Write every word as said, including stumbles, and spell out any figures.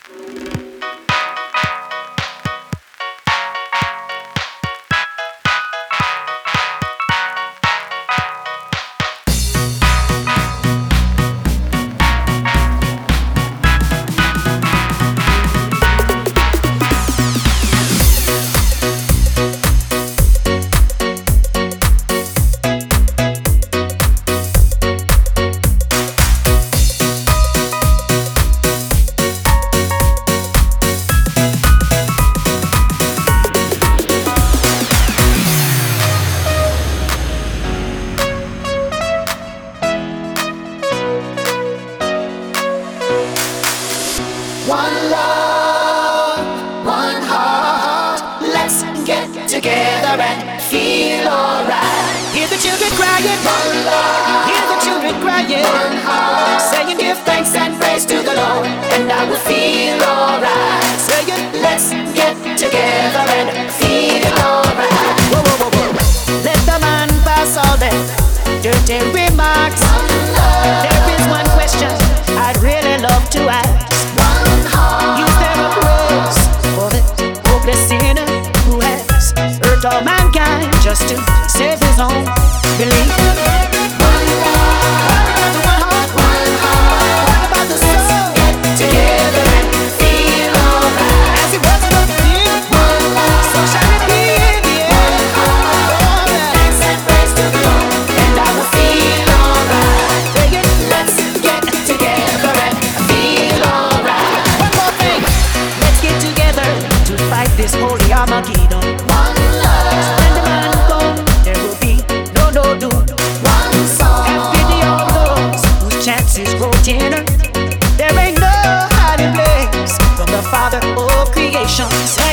One love, one heart. Let's get together and feel alright. Hear the children crying. One love. Hear the children crying. One heart. Saying give thanks and praise to the Lord, and I will feel alright. Saying let's get together and feel alright. Whoa, whoa, whoa, whoa. Let the man pass all their dirty remarks. One love. There is one question I'd really love to ask. Sinner who has hurt all mankind just to save his own belief. One heart, one heart, one heart. What about the soul? Get together and feel alright. As it was before, one heart, so shall it be in the end. One heart, give thanks and praise to the Lord, and I will feel alright. Say it, let's get together and feel alright. One more thing, let's get together to fight this holy Armageddon. One love. So when the man comes, there will be no no doom. One song. Have pity on those whose chances grow thinner. There ain't no hiding place from the Father of creation.